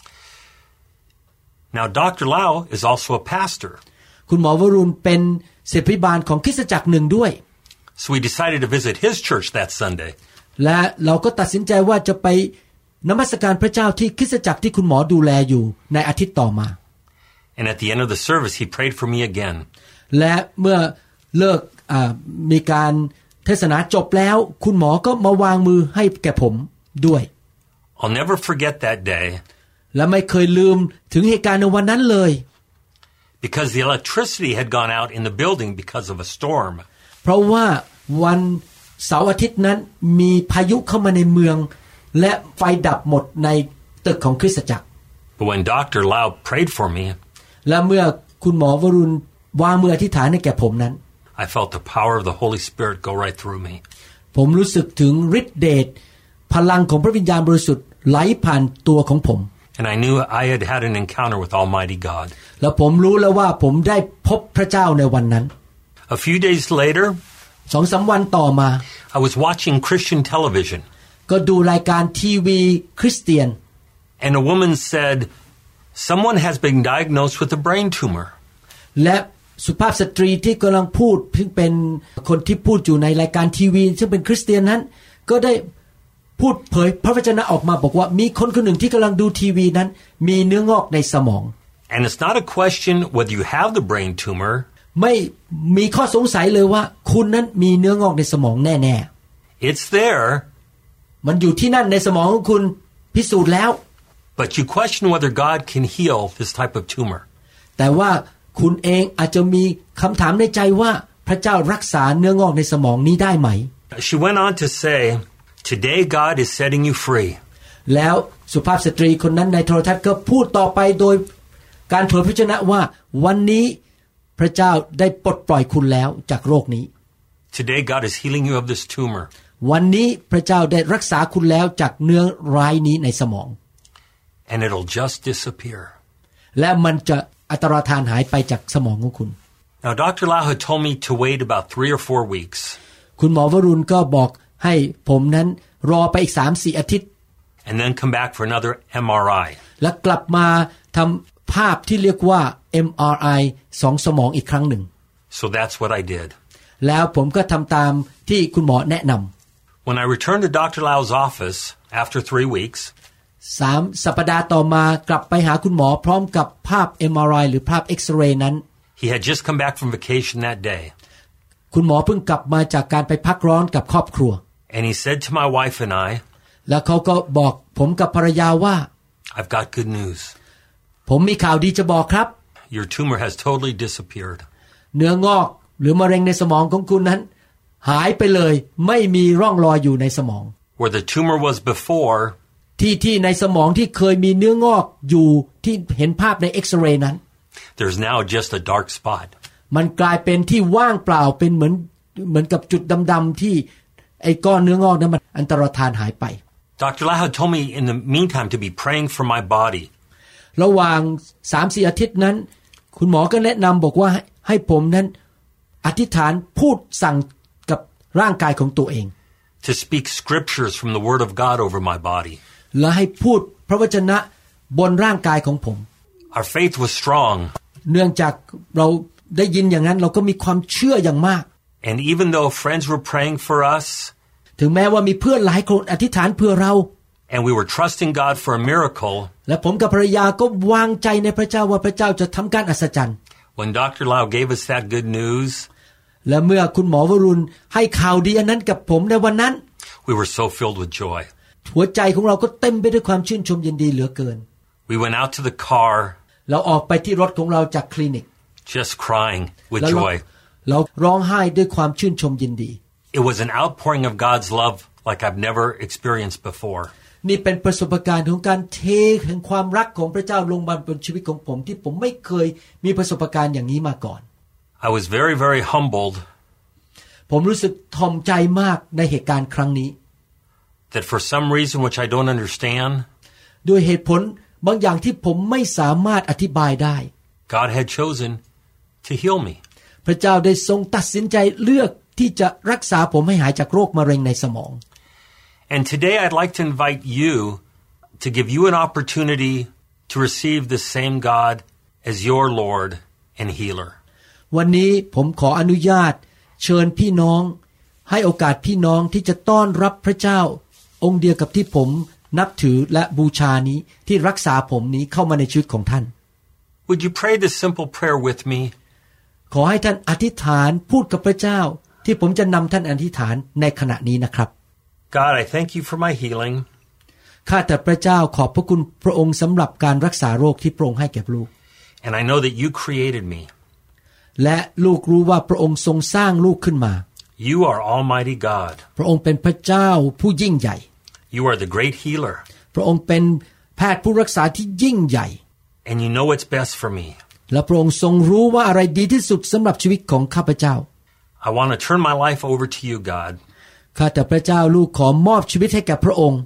Now Dr. Lau is also a pastor. คุณหมอวรุณเป็นศิษย์พิบาลของคริสตจักรหนึ่งด้วย So we decided to visit his church that Sunday. และเราก็ตัดสินใจว่าจะไปนมัสการพระเจ้าที่คริสตจักรที่คุณหมอดูแลอยู่ในอาทิตย์ต่อมา And at the end of the service he prayed for me again. และเมื่อเลิกมีการเทศนาจบแล้วคุณหมอก็มาวางมือให้แก่ผมด้วย I'll never forget that day. และไม่เคยลืมถึงเหตุการณ์ในวันนั้นเลย Because the electricity had gone out in the building because of a storm. เพราะว่าวันเสาร์อาทิตย์นั้นมีพายุเข้ามาในเมืองและไฟดับหมดในตึกของคริสตจักร But when Dr. Lau prayed for me, และเมื่อคุณหมอวรุณวางมืออธิษฐานให้แก่ผมนั้น I felt the power of the Holy Spirit go right through me. ผมรู้สึกถึงฤทธิ์เดชพลังของพระวิญญาณบริสุทธิ์ไหลผ่านตัวของผม And I knew I had had an encounter with Almighty God. แล้วผมรู้แล้วว่าผมได้พบพระเจ้าในวันนั้น A few days later, 2-3 วันต่อมา I was watching Christian television. ก็ดูรายการทีวีคริสเตียน And a woman said, someone has been diagnosed with a brain tumor. และสุภาพสตรีที่กำลังพูดเพิ่งเป็นคนที่พูดอยู่ในรายการทีวีซึ่งเป็นคริสเตียนนั้นก็ได้พูดเผยพระวจนะออกมาบอกว่ามีคนคนหนึ่งที่กำลังดูทีวีนั้นมีเนื้องอกในสมอง And it's not a question whether you have the brain tumor. ไม่มีข้อสงสัยเลยว่าคุณนั้นมีเนื้องอกในสมองแน่ๆ It's there. มันอยู่ที่นั่นในสมองของคุณพิสูจน์แล้ว But you question whether God can heal this type of tumor. แต่ว่าคุณเองอาจจะมีคำถามในใจว่าพระเจ้ารักษาเนื้องอกในสมองนี้ได้ไหม She went on to say, "Today God is setting you free." แล้วสุภาพสตรีคนนั้นในโทรทัศน์ก็พูดต่อไปโดยการเผยพระชนะว่าวันนี้พระเจ้าได้ปลดปล่อยคุณแล้วจากโรคนี้ Today God is healing you of this tumor. วันนี้พระเจ้าได้รักษาคุณแล้วจากเนื้อร้ายนี้ในสมอง And it'll just disappear. และมันจะอัตราทานหายไปจากสมองของคุณ Now Dr. Lau had told me to wait about 3 or 4 weeks. คุณหมอวรุณก็บอกให้ผมนั้นรอไปอีก 3-4 อาทิตย์ And then come back for another MRI. และกลับมาทำภาพที่เรียกว่า MRI 2 สมองอีกครั้งหนึ่ง So that's what I did. แล้วผมก็ทำตามที่คุณหมอแนะนำ When I returned to Dr. Lau's office after 3 weeks, 3 สัปดาห์ต่อมากลับไปหาคุณหมอพร้อมกับภาพ MRI หรือภาพเอ็กซเรย์นั้น he had just come back from vacation that day. คุณหมอเพิ่งกลับมาจากการไปพักร้อนกับครอบครัว And he said to my wife and I, แล้วเขาก็บอกผมกับภรรยาว่า I've got good news. ผมมีข่าวดีจะบอกครับ Your tumor has totally disappeared. เนื้องอกหรือมะเร็งในสมองของคุณนั้นหายไปเลยไม่มีร่องรอยอยู่ในสมอง Where the tumor was before, ที่ในสมองที่เคยมีเนื้องอกอยู่ที่เห็นภาพในเอ็กซเรย์นั้น there's now just a dark spot. มันกลายเป็นที่ว่างเปล่าเป็นเหมือนกับจุดดำๆที่ไอ้ก้อนเนื้องอกนั้นมันอันตรธานหายไป Dr. Lau told me in the meantime to be praying for my body. ระหว่าง 3-4 อาทิตย์นั้นคุณหมอก็แนะนำบอกว่าให้ผมนั้นอธิษฐานพูดสั่งกับร่างกายของตัวเอง To speak scriptures from the Word of God over my body. และให้พูดพระวจนะบนร่างกายของผม Our faith was strong. เนื่องจากเราได้ยินอย่างนั้นเราก็มีความเชื่ออย่างมาก And even though friends were praying for us, ถึงแม้ว่ามีเพื่อนหลายคนอธิษฐานเพื่อเรา and we were trusting God for a miracle, และผมกับภรรยาก็วางใจในพระเจ้าว่าพระเจ้าจะทำการอัศจรรย์ when Dr. Lau gave us that good news, และเมื่อคุณหมอวรุณให้ข่าวดีอันนั้นกับผมในวันนั้น we were so filled with joy. หัวใจของเราก็เต็มไปด้วยความชื่นชมยินดีเหลือเกิน We went out to the car, เราออกไปที่รถของเราจากคลินิก just crying with joy. เราร้องไห้ด้วยความชื่นชมยินดี It was an outpouring of God's love like I've never experienced before. นี่เป็นประสบการณ์ของการเทแห่งความรักของพระเจ้าลงมาบนชีวิตของผมที่ผมไม่เคยมีประสบการณ์อย่างนี้มาก่อน I was very, very humbled ผมรู้สึกถ่อมใจมากในเหตุการณ์ครั้งนี้ that for some reason which I don't understand, ด้วยเหตุผลบางอย่างที่ผมไม่สามารถอธิบายได้ God had chosen to heal me. พระเจ้าได้ทรงตัดสินใจเลือกที่จะรักษาผมให้หายจากโรคมะเร็งในสมอง And today I'd like to invite you to give you an opportunity to receive the same God as your Lord and healer. วันนี้ผมขออนุญาตเชิญพี่น้องให้โอกาสพี่น้องที่จะต้อนรับพระเจ้าองค์เดียวกับที่ผมนับถือและบูชานี้ที่รักษาผมนี้เข้ามาในชีวิตของท่าน Would you pray this simple prayer with me? ขอให้ท่านอธิษฐานพูดกับพระเจ้าที่ผมจะนำท่านอธิษฐานในขณะนี้นะครับ God, I thank you for my healing. ข้าแต่พระเจ้าขอบพระคุณพระองค์สำหรับการรักษาโรคที่พระองค์ให้แก่ลูก And I know that you created me. และลูกรู้ว่าพระองค์ทรงสร้างลูกขึ้นมา You are Almighty God. พระองค์เป็นพระเจ้าผู้ยิ่งใหญ่ You are the great healer. พระองค์เป็นแพทย์ผู้รักษาที่ยิ่งใหญ่ And you know what's best for me. และพระองค์ทรงรู้ว่าอะไรดีที่สุดสำหรับชีวิตของข้าพเจ้า I want to turn my life over to you, God. ข้าแต่พระเจ้าลูกขอมอบชีวิตให้แก่พระองค์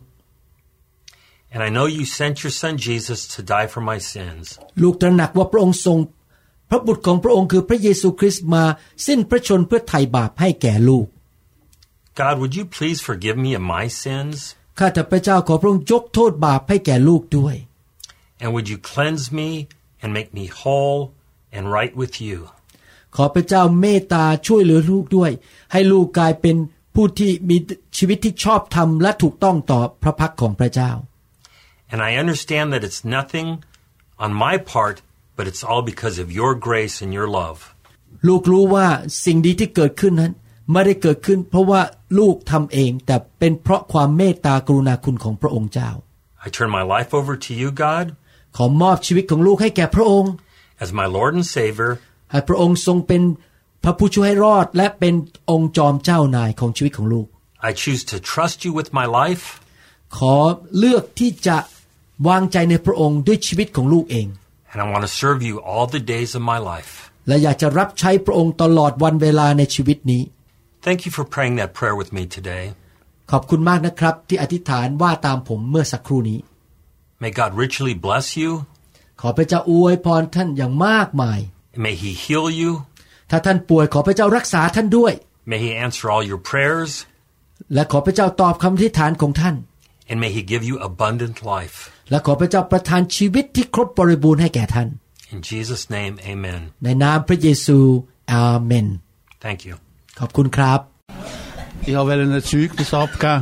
And I know you sent your son Jesus to die for my sins. ลูกตระหนักว่าพระองค์ทรงพระบุตรของพระองค์คือพระเยซูคริสต์มาสิ้นพระชนเพื่อไถ่บาปให้แก่ลูก God, would you please forgive me of my sins? ข้าแต่พระเจ้าขอพระองค์ยกโทษบาปให้แก่ลูกด้วย And would you cleanse me and make me whole and right with you? ขอพระเจ้าเมตตาช่วยเหลือลูกด้วยให้ลูกกลายเป็นผู้ที่มีชีวิตที่ชอบธรรมและถูกต้องต่อพระพักของพระเจ้า And I understand that it's nothing on my part, but it's all because of your grace and your love. ลูกรู้ว่าสิ่งดีที่เกิดขึ้นนั้นไม่ได้เกิดขึ้นเพราะว่าลูกทำเองแต่เป็นเพราะความเมตตากรุณาคุณของพระองค์เจ้า I I turn my life over to you, God, ขอมอบชีวิตของลูกให้แก่พระองค์ as my Lord and Savior, ให้พระองค์ทรงเป็นพระผู้ช่วยให้รอดและเป็นองค์จอมเจ้านายของชีวิตของลูก I choose to trust you with my life, ขอเลือกที่จะวางใจในพระองค์ด้วยชีวิตของลูกเอง and I want to serve you all the days of my life. และอยากจะรับใช้พระองค์ตลอดวันเวลาในชีวิตนี้ Thank you for praying that prayer with me today. ขอบคุณมากนะครับที่อธิษฐานว่าตามผมเมื่อสักครู่นี้ May God richly bless you. ขอพระเจ้าอวยพรท่านอย่างมากมาย May He heal you. ถ้าท่านป่วยขอพระเจ้ารักษาท่านด้วย May He answer all your prayers. และขอพระเจ้าตอบคำอธิษฐานของท่าน And may He give you abundant life. และขอพระเจ้าประทานชีวิตที่ครบบริบูรณ์ให้แก่ท่าน In Jesus' name, amen. ในนามพระเยซูอาเมน Thank you. ขอบคุณครับ Ich will ein Zeugnis abgeben.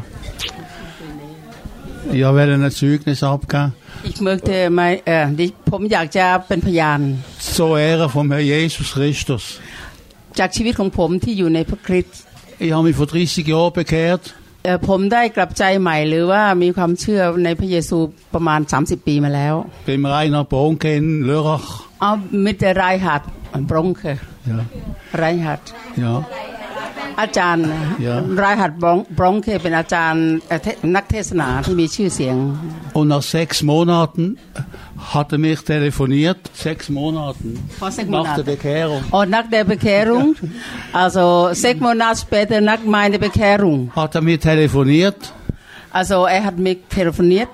Ich möchteผมอยากจะเป็นพยาน Zur Ehre vom Herrn Jesus Christus. จากชีวิตของผมที่อยู่ในพระคริสต์ Ich habe mich vor 30 Jahren bekehrt. ผมได้กลับใจใหม่หรือว่ามีความเชื่อในพระเยซูประมาณ30ปีมาแล้ว Beim Rainer Bonke in Lörrach. Mit der Reinhard Bronke. Ja. Reinhard. Ja. อาจารย์ Reinhard Bronke เป็นอาจารย์นักเทศนาที่มีชื่อเสียง Und nach 6 Monaten hat er mich telefoniert. 6 Monaten. Nach der Bekehrung. Und nach der Bekehrung, also 6 Monate später nach meiner Bekehrung. Hat er mich telefoniert. Also er hat mich telefoniert.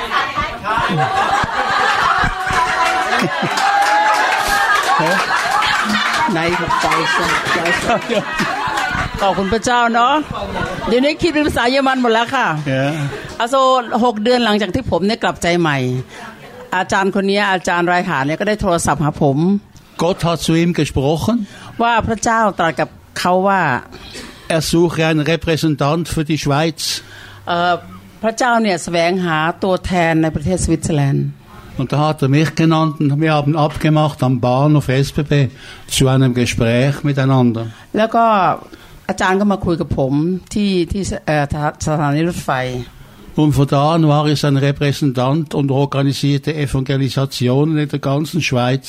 Nein, ich ขอบคุณพระเจ้าเนาะเดี๋ยวนี้คิดเป็นภาษาเยอรมันหมดแล้วค่ะ Also 6 เดือนหลังจากที่ผมได้กลับใจใหม่อาจารย์คนนี้อาจารย์ไรหาเนี่ยก็ได้โทรศัพท์หาผม Gott hat zu ihm gesprochen. ว่าพระเจ้าตรัสกับเขาว่า Er suche einen Repräsentant für die Schweiz. พระเจ้าเนี่ยแสวงหาตัวแทนในประเทศสวิตเซอร์แลนด์ Und da hat er mich genannt und wir haben abgemacht am Bahnhof SBB zu einem Gespräch miteinander. แล้วก็อาจารย์ก็มาคุยกับผมที่สถานีรถไฟ Und von da an war ich sein Repräsentant und organisierte Evangelisationen in der ganzen Schweiz.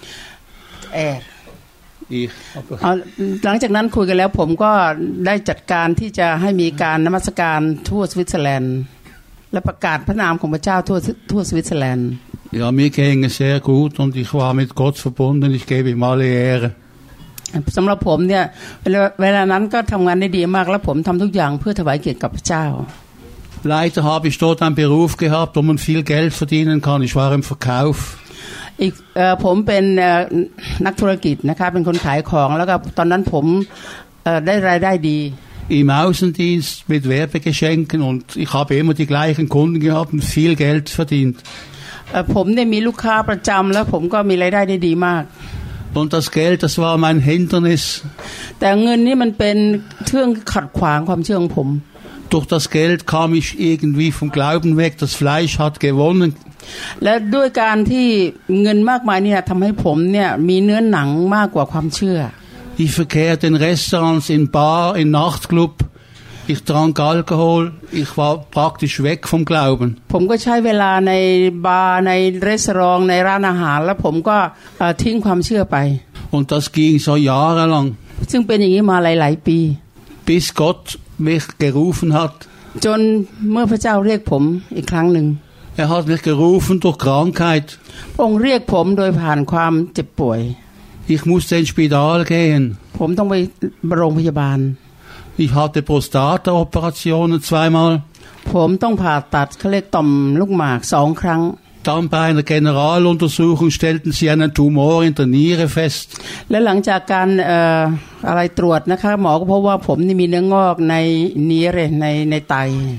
Ich. หลังจากนั้นคุยกันแล้วผมก็ได้จัดการที่จะให้มีการนมัสการทั่วสวิตเซอร์แลนด์และประกาศพระนามของพระเจ้าทั่วสวิตเซอร์แลนด์ Ja, mir ging es sehr gut und ich war mit Gott verbunden. Ich gebe ihm alle Ehre. สำหรับผมเนี่ยเวลานั้นก็ทำงานได้ดีมากและผมทำทุกอย่างเพื่อถวายเกียรติกับพระเจ้า Leider habe ich dort einen Beruf gehabt, wo man viel Geld verdienen kann. Ich war im Verkauf. ผมเป็นนักธุรกิจนะคะเป็นคนขายของแล้วก็ตอนนั้นผมได้รายได้ดี Im Außendienst mit Werbegeschenken und ich habe immer die gleichen Kunden gehabt und viel Geld verdient. ผมได้มีลูกค้าประจำแล้วผมก็มีรายได้ได้ดีมาก Und das Geld, das war mein Hindernis. แต่เงินนี่มันเป็นเครื่องขัดขวางความเชื่อของผม Durch das Geld kam ich irgendwie vom Glauben weg. Das Fleisch hat gewonnen. และด้วยการที่เงินมากมายนี่ทำให้ผมเนี่ยมีเนื้อหนังมากกว่าความเชื่อ Ich verkehrte in Restaurants, in Bar, in Nachtclub. Ich trank Alkohol. Ich war praktisch weg vom Glauben. ผมก็ใช้เวลาในบาร์ในรีสอร์ทในร้านอาหารแล้วผมก็ทิ้งความเชื่อไป Und das ging so jahrelang. ซึ่งเป็นอย่างนี้มาหลายๆปี Bis Gott mich gerufen hat. จนเมื่อพระเจ้าเรียกผมอีกครั้งหนึ่ง Er hat mich gerufen durch Krankheit. พระองค์เรียกผมโดยผ่านความเจ็บป่วย Ich musste ins Spital gehen. ผมต้องไปโรงพยาบาล Ich hatte Prostata-Operationen 2-mal. ผมต้องผ่าตัดเขาเรียกต่อมลูกหมาก2 ครั้ง Dann bei einer Generaluntersuchung stellten sie einen Tumor in der Niere fest. และหลังจากการอะไรตรวจนะคะหมอก็พบว่าผมนี่มีเนื้องอกในเนื้อในไต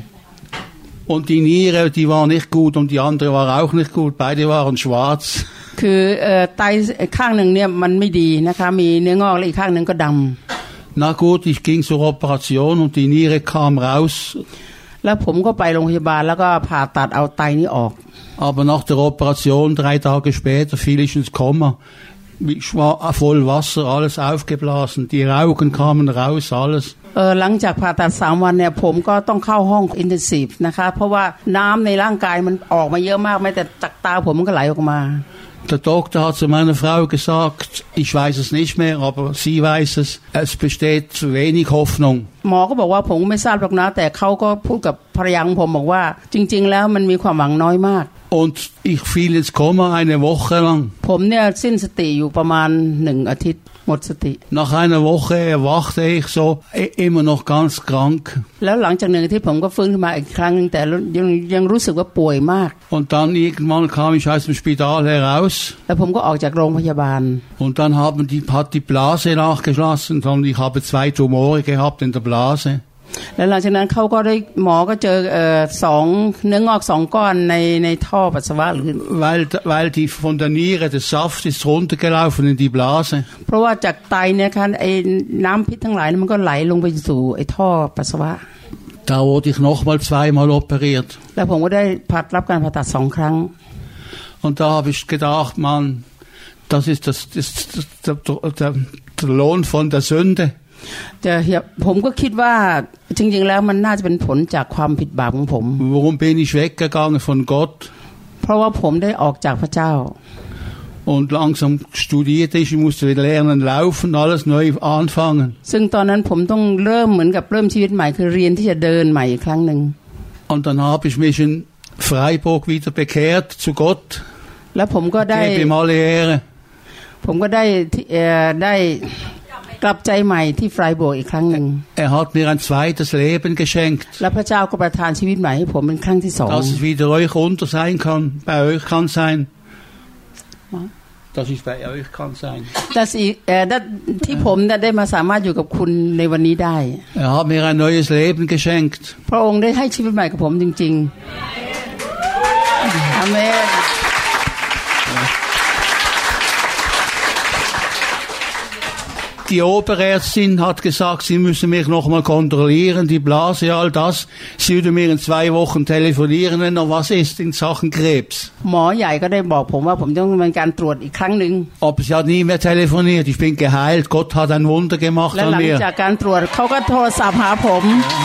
Und die Niere, die war nicht gut und die andere war auch nicht gut. Beide waren schwarz. คือไตข้างหนึ่งเนี่ยมันไม่ดีนะคะมีเนื้องอกและอีกข้างหนึ่งก็ดำ Na gut, ich ging zur Operation und die Niere kam raus. แล้วผมก็ไปโรงพยาบาลแล้วก็ผ่าตัดเอาไตนี้ออก Aber nach der Operation 3 Tage später fiel ich ins Koma. voll Wasser, alles aufgeblasen, die Augen kamen raus, alles. หลังจากผ่าตัด3 วันเนี่ยผมก็ต้องเข้าห้องอินเทนซีฟนะคะเพราะว่าน้ำในร่างกายมันออกมาเยอะมากแม้แต่จากตาผมมันก็ไหลออกมา Der Doktor hat zu meiner Frau gesagt, ich weiß es nicht mehr, aber sie weiß es, es besteht zu wenig Hoffnung. หมอก็บอกว่าผมไม่ทราบหรอกนะแต่เขาก็พูดกับภรรยาของผมบอกว่าจริงๆแล้วมันมีความหวังน้อยมาก Und ich fiel ins Koma eine Woche lang. ผมเนี่ยสิ้นสติอยู่ประมาณ1 อาทิตย์หมดสติ Nach einer Woche erwachte ich so immer noch ganz krank. แล้วหลังจาก1 อาทิตย์ผมก็ฟื้นขึ้นมาอีกครั้งนึงแต่ยังรู้สึกว่าป่วยมาก Und dann irgendwann kam ich aus dem Spital heraus. แล้วผมก็ออกจากโรงพยาบาล Und dann hat die Blase nachgeschlossen und ich habe 2 Tumore gehabt in der Blase. แล้วหลังจากนั้นเขาก็ได้หมอก็เจอ2 เนื้องอก 2 ก้อนในท่อปัสสาวะหรือ weil die von der Niere der Saft ist runtergelaufen in die Blase เพราะว่าจากไตเนี่ยค่ะไอ้น้ำพิษทั้งหลายมันก็ไหลลงไปสู่ไอ้ท่อปัสสาวะ Da wurde ich nochmal 2-mal operiert แล้วผมก็ได้รับการผ่าตัด2 ครั้ง Und da habe ich gedacht, Mann, das ist der Lohn von der Sünde แต่ผมก็คิดว่าจริงๆแล้วมันน่าจะเป็นผลจากความผิดบาปของผม Warum bin ich weggegangen von Gott? เพราะว่าผมได้ออกจากพระเจ้า Und langsam studierte ich musste wieder lernen laufen, alles neu anfangen. ซึ่งตอนนั้นผมต้องเริ่มเหมือนกับเริ่มชีวิตใหม่คือเรียนที่จะเดินใหม่อีกครั้งนึง Und dann habe ich mich in Freiburg wieder bekehrt zu Gott. แล้วผมก็ได้ Gebe ihm alle Ehre. ผมก็ได้กลับใจใหม่ที่ไฟบวกอีกครั้งนึง hat mir ein zweites Leben geschenkt. และพระเจ้าก็ประทานชีวิตใหม่ให้ผมเป็นครั้งที่2 Dass es wieder euch unter sein kann, bei euch kann sein. Dass ich bei euch kann sein. ที่ผมได้มาสามารถอยู่กับคุณในวันนี้ได้ hat mir ein neues Leben geschenkt. พระองค์ได้ให้ชีวิตใหม่กับผมจริงๆอาเมน Die Oberärztin hat gesagt, sie müssen mich noch mal kontrollieren, die Blase, all das. Sie würde mir in 2 Wochen telefonieren, wenn noch was ist in Sachen Krebs. หมอใหญ่ก็ได้บอกผมว่าผมต้องมีการตรวจอีกครั้งนึง Aber sie hat nie mehr telefoniert. Ich bin geheilt. Gott hat ein Wunder gemacht an mir. และหลังจากการตรวจเขาก็โทรศัพท์หาผม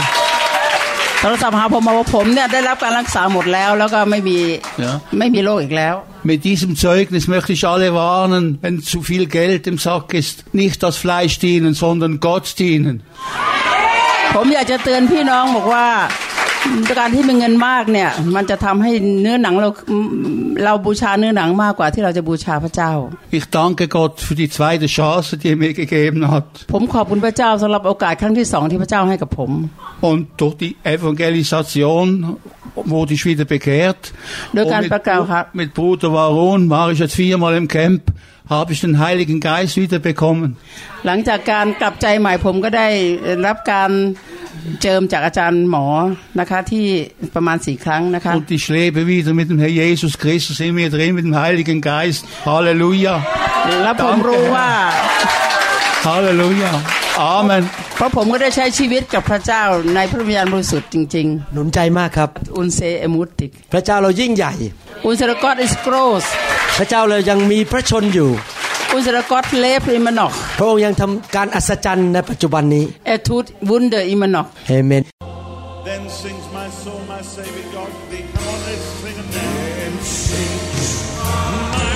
มาว่าผมเนี่ยได้รับการรักษาหมดแล้วแล้วก็ไม่มีโรคอีกแล้ว Mit diesem Zeugnis möchte ich alle warnen, wenn zu viel Geld im Sack ist, nicht das Fleisch dienen, sondern Gott dienen. ผมอยากจะเตือนพี่น้องบอกว่าการที่มีเงินมากเนี่ยมันจะทำให้เนื้อหนังเราบูชาเนื้อหนังมากกว่าที่เราจะบูชาพระเจ้า Ich danke Gott für die zweite Chance, die er mir gegeben hat. ผมขอบคุณพระเจ้าสำหรับโอกาสครั้งที่2ที่พระเจ้าให้กับผม Und durch die Evangelisation wurde ich wieder bekehrt. Mit Bruder Warun war ich jetzt 4-mal im Camp, habe ich den Heiligen Geist wieder bekommen. หลังจากการกลับใจใหม่ผมก็ได้รับการเจิมจากอาจารย์หมอนะคะที่ประมาณ4 ครั้งนะคะ Und ich lebe wieder mit dem Herr Jesus Christus in mir drin, mit dem Heiligen Geist. Halleluja. และผมรู้ว่า Halleluja. Amen. เพราะผมก็ได้ใช้ชีวิตกับพระเจ้าในพระวิญญาณบริสุทธิ์จริงๆหนุนใจมากครับ Unser ermutigt พระเจ้าเรายิ่งใหญ่ Unser Gott ist groß พระเจ้าเรายังมีพระชนอยู่ Unser Gott lebt immer noch พระองค์ยังทำการอัศจรรย์ในปัจจุบันนี้ tut Wunder immer noch Amen. Then sings my soul, my Savior God thee. Come on, let's sing it. Then sings my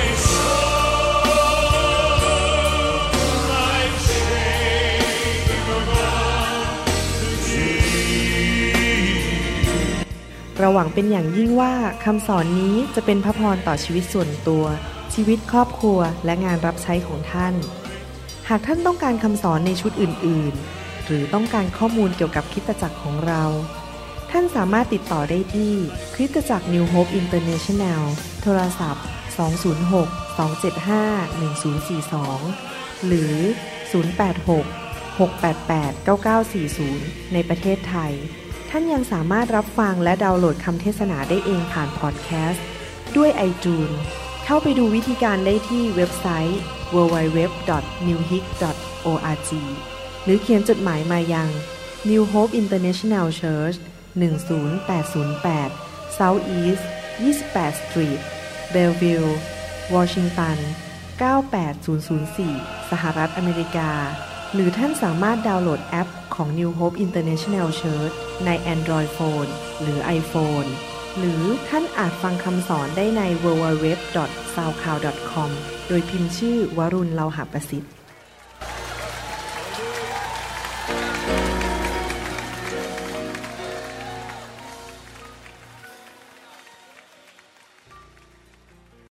soul, my Savior God thee. เราหวังเป็นอย่างยิ่งว่าคำสอนนี้จะเป็นพระพรต่อชีวิตส่วนตัวชีวิตครอบครัวและงานรับใช้ของท่านหากท่านต้องการคำสอนในชุดอื่นๆหรือต้องการข้อมูลเกี่ยวกับคริสตจักรของเราท่านสามารถติดต่อได้ที่คริสตจักร New Hope International โทรศัพท์206-275-1042หรือ086-688-9940ในประเทศไทยท่านยังสามารถรับฟังและดาวน์โหลดคำเทศนาได้เองผ่านพอดแคสต์ด้วย iTunes เข้าไปดูวิธีการได้ที่เว็บไซต์ www.newhope.org หรือเขียนจดหมายมายัง New Hope International Church 10808 South East 28 Street Bellevue Washington 98004 สหรัฐอเมริกาหรือท่านสามารถดาวน์โหลดแอปของ New Hope International Church ใน Android Phone หรือ iPhone หรือท่านอาจฟังคำสอนได้ใน www.soundcloud.com โดยพิมพ์ชื่อวรุณ เลาหะประสิทธิ์